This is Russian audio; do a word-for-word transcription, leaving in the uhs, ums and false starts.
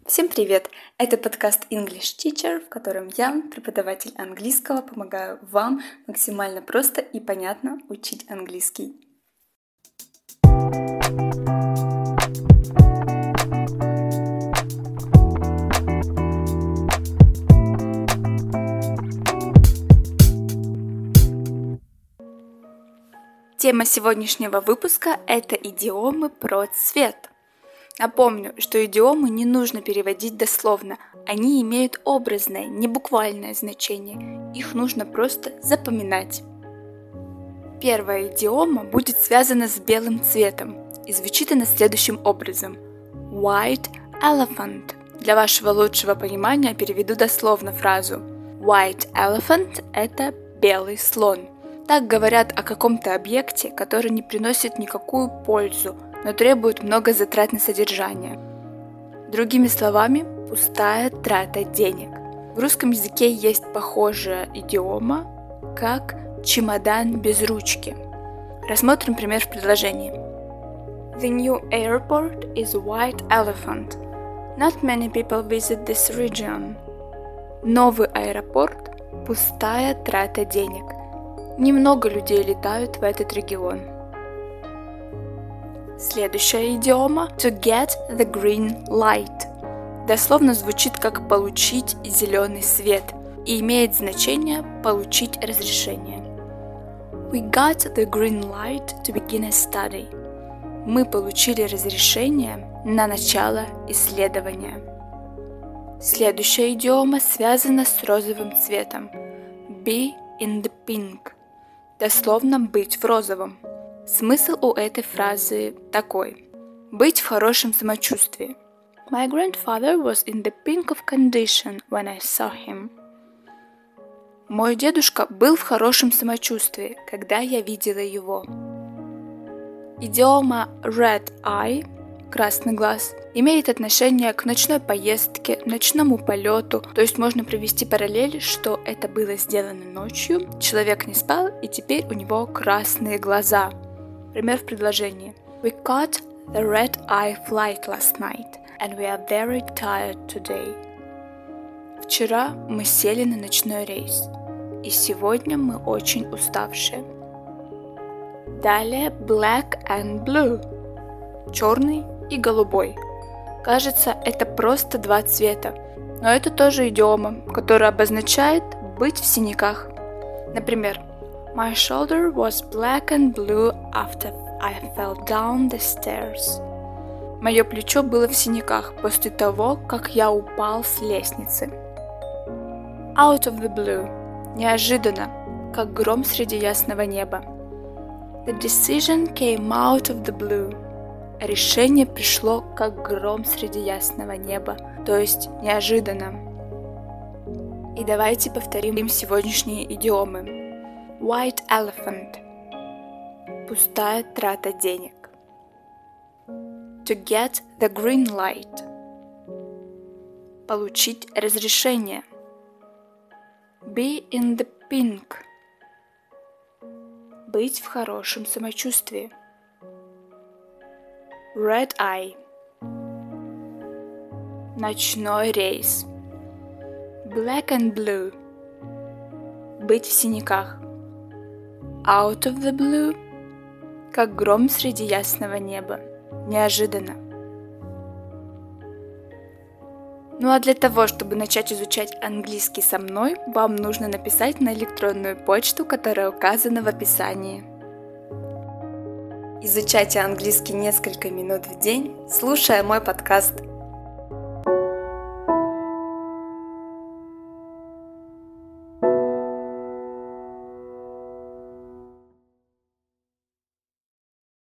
Всем привет! Это подкаст English Teacher, в котором я, преподаватель английского, помогаю вам максимально просто и понятно учить английский. Тема сегодняшнего выпуска – это идиомы про цвет. Напомню, что идиомы не нужно переводить дословно, они имеют образное, не буквальное значение, их нужно просто запоминать. Первая идиома будет связана с белым цветом, и звучит она следующим образом. White elephant. Для вашего лучшего понимания переведу дословно фразу. White elephant – это белый слон. Так говорят о каком-то объекте, который не приносит никакую пользу, но требует много затрат на содержание. Другими словами, пустая трата денег. В русском языке есть похожая идиома, как чемодан без ручки. Рассмотрим пример в предложении. The new airport is a white elephant. Not many people visit this region. Новый аэропорт – пустая трата денег. Немного людей летают в этот регион. Следующая идиома to get the green light. Дословно звучит как получить зеленый свет и имеет значение получить разрешение. We got the green light to begin a study. Мы получили разрешение на начало исследования. Следующая идиома связана с розовым цветом. Be in the pink. Дословно быть в розовом. Смысл у этой фразы такой. Быть в хорошем самочувствии. My grandfather was in the pink of condition when I saw him. Мой дедушка был в хорошем самочувствии, когда я видела его. Идиома red eye, красный глаз, имеет отношение к ночной поездке, ночному полету, то есть можно провести параллель, что это было сделано ночью, человек не спал и теперь у него красные глаза. Пример в предложении. We caught the red-eye flight last night, and we are very tired today. Вчера мы сели на ночной рейс, и сегодня мы очень уставшие. Далее black and blue, черный и голубой. Кажется, это просто два цвета, но это тоже идиома, которая обозначает быть в синяках. Например, My shoulder was black and blue after I fell down the stairs. Мое плечо было в синяках после того, как я упал с лестницы. Out of the blue. Неожиданно, как гром среди ясного неба. The decision came out of the blue. Решение пришло, как гром среди ясного неба, то есть неожиданно. И давайте повторим сегодняшние идиомы. White elephant. Пустая трата денег. To get the green light. Получить разрешение. Be in the pink. Быть в хорошем самочувствии. Red eye. Ночной рейс. Black and blue. Быть в синяках. Out of the blue. Как гром среди ясного неба. Неожиданно. Ну а для того, чтобы начать изучать английский со мной, вам нужно написать на электронную почту, которая указана в описании. Изучайте английский несколько минут в день, слушая мой подкаст.